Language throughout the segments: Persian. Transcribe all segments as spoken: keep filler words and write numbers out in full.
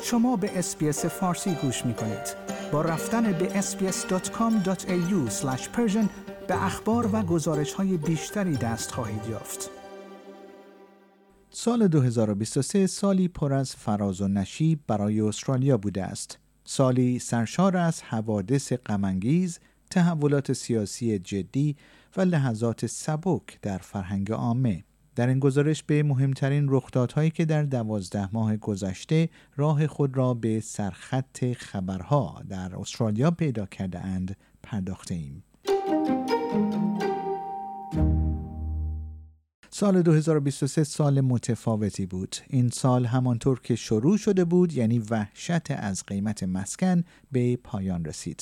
شما به اس‌بی‌اس فارسی گوش می‌کنید. با رفتن به اس بی اس دات کام دات ای یو اسلش پرشن به اخبار و گزارش‌های بیشتری دست خواهید یافت. سال دو هزار و بیست و سه سالی پر از فراز و نشیب برای استرالیا بوده است. سالی سرشار از حوادث غم‌انگیز، تحولات سیاسی جدی و لحظات سبک در فرهنگ عامه. در این گزارش به مهمترین رخدادهایی که در دوازده ماه گذشته راه خود را به سرخط خبرها در استرالیا پیدا کرده اند پرداخته ایم. سال دو هزار و بیست و سه سال متفاوتی بود. این سال همانطور که شروع شده بود، یعنی وحشت از قیمت مسکن، به پایان رسید.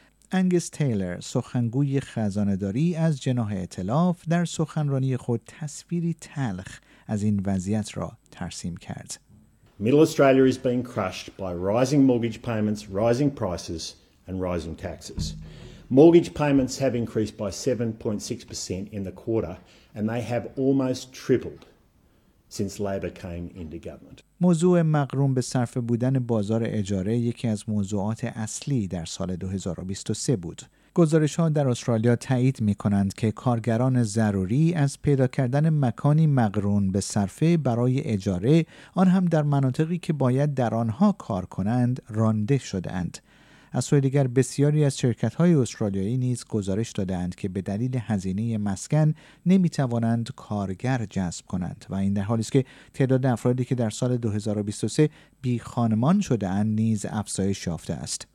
انگس تیلر، سخنگوی خزانه‌داری از جناح ائتلاف، در سخنرانی خود تصویری تلخ از این وضعیت را ترسیم کرد. Middle Australia is being crushed by rising mortgage payments, rising prices and rising taxes. Mortgage payments have increased by seven point six percent in the quarter and they have almost tripled since Labor came into government. موضوع مقرون به صرفه بودن بازار اجاره یکی از موضوعات اصلی در سال دو هزار و بیست و سه بود. گزارش‌ها در استرالیا تایید می‌کنند که کارگران ضروری از پیدا کردن مکانی مقرون به صرفه برای اجاره، آن هم در مناطقی که باید در آنها کار کنند، رانده شده‌اند. از سوی دیگر بسیاری از شرکت‌های استرالیایی نیز گزارش دادند که به دلیل هزینه مسکن نمی‌توانند کارگر جذب کنند و این در حالی است که تعداد افرادی که در سال دو هزار و بیست و سه بی خانمان شده‌اند نیز افزایش یافته است.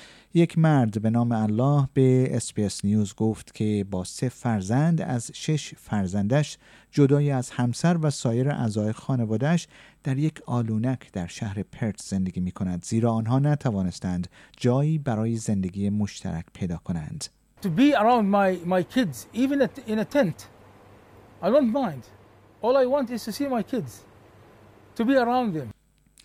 یک مرد به نام الله به اس بی اس نیوز گفت که با سه فرزند از شش فرزندش جدای از همسر و سایر اعضای خانواده‌اش در یک آلونک در شهر پرت زندگی می کند، زیرا آنها نتوانستند جایی برای زندگی مشترک پیدا کنند. To be around my my kids even at, in a tent. I don't mind. All I want is to see my kids. To be around them.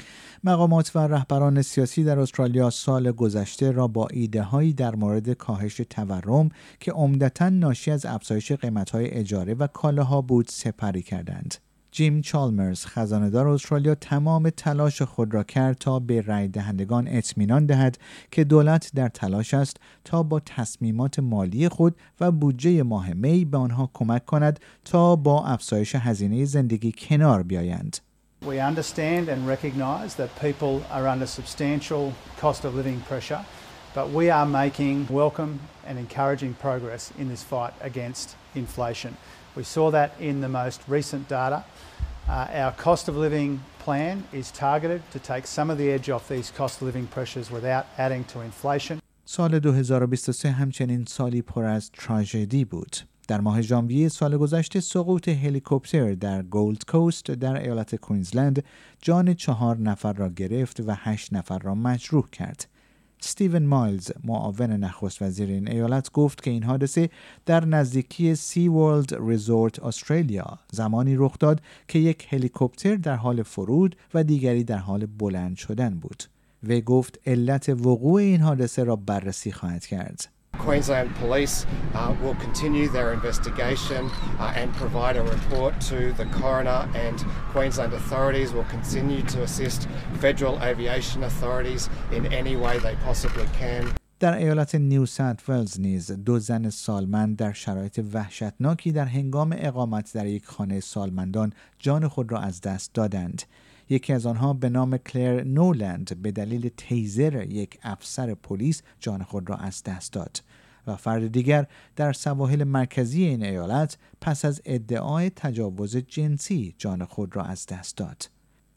مقامات و رهبران سیاسی در استرالیا سال گذشته را با ایده‌هایی در مورد کاهش تورم که عمدتاً ناشی از افزایش قیمت‌های اجاره و کالاها بود سپری کردند. جیم چالمرز، خزانه‌دار استرالیا، تمام تلاش خود را کرد تا به رای دهندگان اطمینان دهد که دولت در تلاش است تا با تصمیمات مالی خود و بودجه ماه می به آنها کمک کند تا با افزایش هزینه زندگی کنار بیایند. We understand and recognise that people are under substantial cost of living pressure, but we are making welcome and encouraging progress in this fight against inflation. We saw that in the most recent data. Uh, our cost of living plan is targeted to take some of the edge off these cost of living pressures without adding to inflation. سال دو هزار و بیست و سه همچنین سالی پر از تراژدی بود. در ماه ژانویه سال گذشته سقوط هلیکوپتر در گولد کوست در ایالت کوینزلند جان چهار نفر را گرفت و هشت نفر را مجروح کرد. استیون مایلز، معاون نخست وزیر این ایالت، گفت که این حادثه در نزدیکی سی ورلد ریزورت استرالیا زمانی رخ داد که یک هلیکوپتر در حال فرود و دیگری در حال بلند شدن بود. و گفت علت وقوع این حادثه را بررسی خواهد کرد. Queensland Police uh, will continue their investigation uh, and provide a report to the coroner, and Queensland authorities will continue to assist federal aviation authorities in any way they possibly can. در ایالت نیو ساوت ولز نیز دو زن سالمند در شرایط وحشتناکی در هنگام اقامت در یک خانه سالمندان جان خود را از دست دادند. یکی از آنها به نام کلر نولند به دلیل تیزر یک افسر پلیس جان خود را از دست داد و فرد دیگر در سواحل مرکزی این ایالت پس از ادعای تجاوز جنسی جان خود را از دست داد.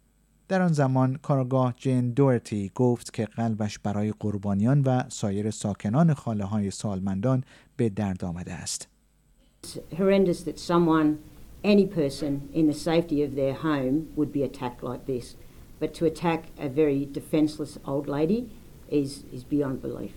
در آن زمان کارآگاه جین دورتی گفت که قلبش برای قربانیان و سایر ساکنان خانه‌های سالمندان به درد آمده است. It's horrendous that someone, any person in the safety of their home would be attacked like this. But to attack a very defenseless old lady is is beyond belief.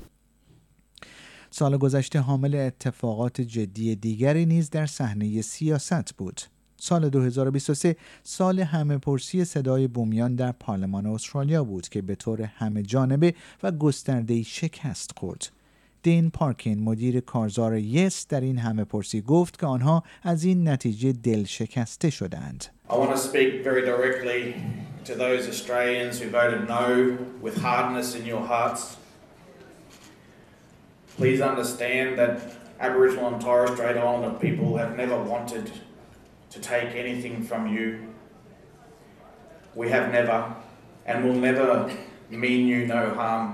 سال گذشته حامل اتفاقات جدی دیگری نیز در صحنه سیاست بود. سال دو هزار و بیست و سه سال همه پرسی صدای بومیان در پارلمان استرالیا بود که به طور همه جانبه و گسترده‌ای شکست خورد. دین پارکین، مدیر کارزار یس، در این همه پرسی گفت که آنها از این نتیجه دل شکسته شدند. I want to speak very directly to those Australians who voted no with hardness in your hearts, please understand that Aboriginal and Torres Strait Islander people have never wanted to take anything from you. We have never and will never mean you no harm.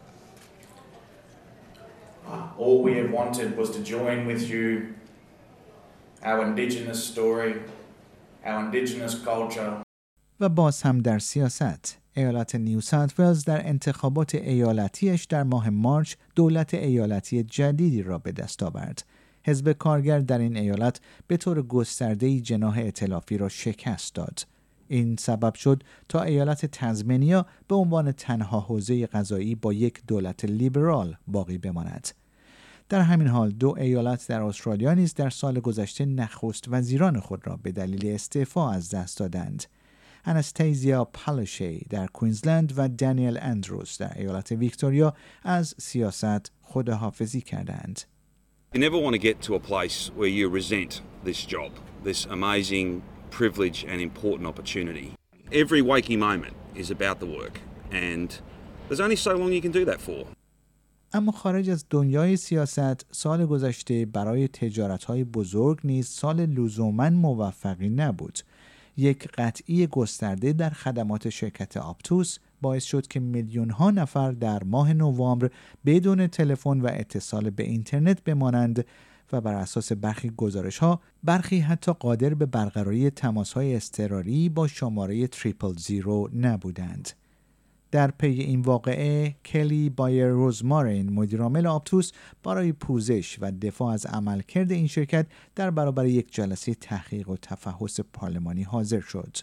All we have wanted was to join with you our Indigenous story, our Indigenous culture. و باز هم در سیاست، ایالت نیو ساوت ولز در انتخابات ایالتیش در ماه مارچ دولت ایالتی جدیدی را به دست آورد. حزب کارگر در این ایالت به طور گسترده‌ای جناح ائتلافی را شکست داد. این سبب شد تا ایالت تزمینیا به عنوان تنها حوزه قضایی با یک دولت لیبرال باقی بماند. در همین حال دو ایالت در استرالیا نیز در سال گذشته نخست وزیران خود را به دلیل استعفا از دست دادند. اناستازیا پالوشی در کوینزلند و دانیل اندروز در ایالت ویکتوریا از سیاست خداحافظی کردند. You never want to get to a place where you resent this job, this amazing privilege and important opportunity. Every waking moment is about the work and there's only so long you can do that for. اما خارج از دنیای سیاست، سال گذشته برای تجارت‌های بزرگ نیز سال لزوماً موفقی نبود. یک قطعی گسترده در خدمات شرکت آپتوس باعث شد که میلیون‌ها نفر در ماه نوامبر بدون تلفن و اتصال به اینترنت بمانند و بر اساس برخی گزارش‌ها برخی حتی قادر به برقراری تماس‌های اضطراری با شماره تریپل زیرو نبودند. در پی این واقعه کلی بایر روزمارین مدیرعامل آپتوس برای پوزش و دفاع از عملکرد این شرکت در برابر یک جلسه تحقیق و تفحص پارلمانی حاضر شد.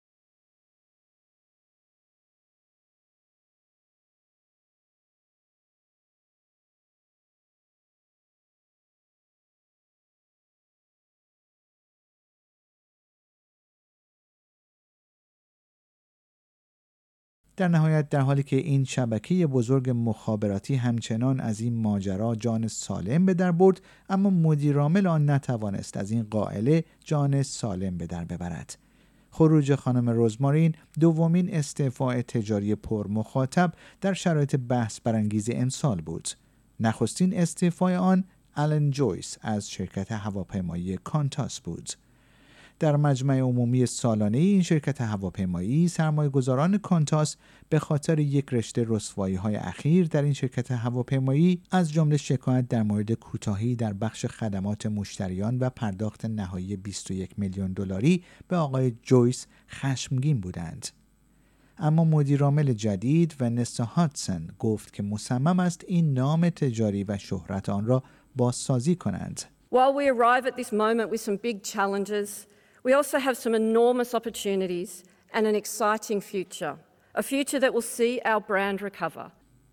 در نهایت در حالی که این شبکه بزرگ مخابراتی همچنان از این ماجرا جان سالم به در برد، اما مدیرعامل آن نتوانست از این قائله جان سالم به در ببرد. خروج خانم روزمارین دومین استعفاء تجاری پر مخاطب در شرایط بحث برانگیز امسال بود. نخستین استعفای آن آلن جویس از شرکت هواپیمایی کانتاس بود. در مجمع عمومی سالانه این شرکت هواپیمایی، سرمایه‌گذاران کانتاس به خاطر یک رشته رسوایی‌های اخیر در این شرکت هواپیمایی از جمله شکایت در مورد کوتاهی در بخش خدمات مشتریان و پرداخت نهایی بیست و یک میلیون دلاری به آقای جویس خشمگین بودند. اما مدیرعامل جدید ونسا هاتسون گفت که مصمم است این نام تجاری و شهرت آن را بازسازی کنند. While we arrive at this moment with some big challenges, we also have some enormous opportunities and an exciting future, a future that will see our brand recover.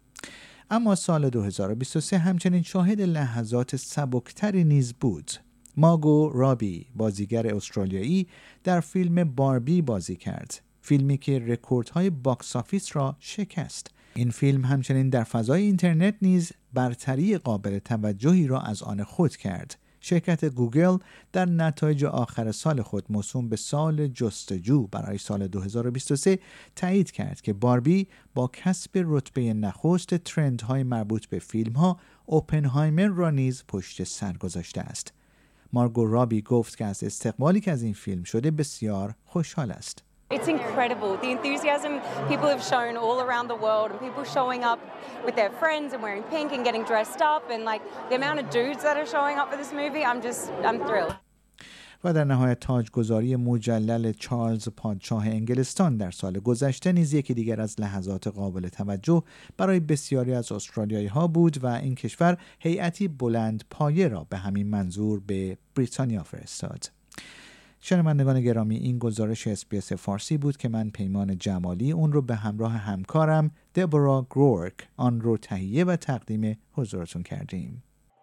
اما سال دو هزار و بیست و سه همچنین شاهد لحظات سبکتری نیز بود. مارگو رابی، بازیگر استرالیایی، در فیلم باربی بازی کرد، فیلمی که رکوردهای باکس آفیس را شکست. این فیلم همچنین در فضای اینترنت نیز برتری قابل توجهی را از آن خود کرد. شرکت گوگل در نتایج آخر سال خود موسوم به سال جستجو برای سال دو هزار و بیست و سه تایید کرد که باربی با کسب رتبه نخست ترندهای مربوط به فیلم‌ها اوپنهایمر را نیز پشت سر گذاشته است. مارگو رابی گفت که از استقبالی که از این فیلم شده بسیار خوشحال است. It's incredible, the enthusiasm people have shown all around the world and people showing up with their friends and wearing pink and getting dressed up and like the amount of dudes that are showing up for this movie, I'm just, I'm thrilled. و در نهایت تاجگذاری مجلل چارلز پادشاه انگلستان در سال گذشته نیز یکی دیگر از لحظات قابل توجه برای بسیاری از استرالیایی ها بود و این کشور هیئتی بلند پایه را به همین منظور به بریتانیا فرستاد. شنوندگان گرامی، این گزارش اس بی اس فارسی بود که من پیمان جمالی اون رو به همراه همکارم دبورا گرورک آن رو تهیه و تقدیم حضورتون کردیم.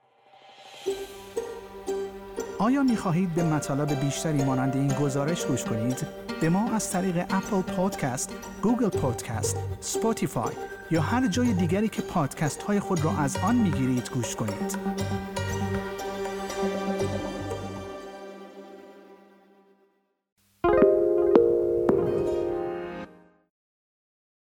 آیا می خواهید به مطالب بیشتری مانند این گزارش گوش کنید؟ به ما از طریق اپل پادکست، گوگل پادکست، اسپاتیفای یا هر جای دیگری که پادکست های خود را از آن می گیرید گوش کنید.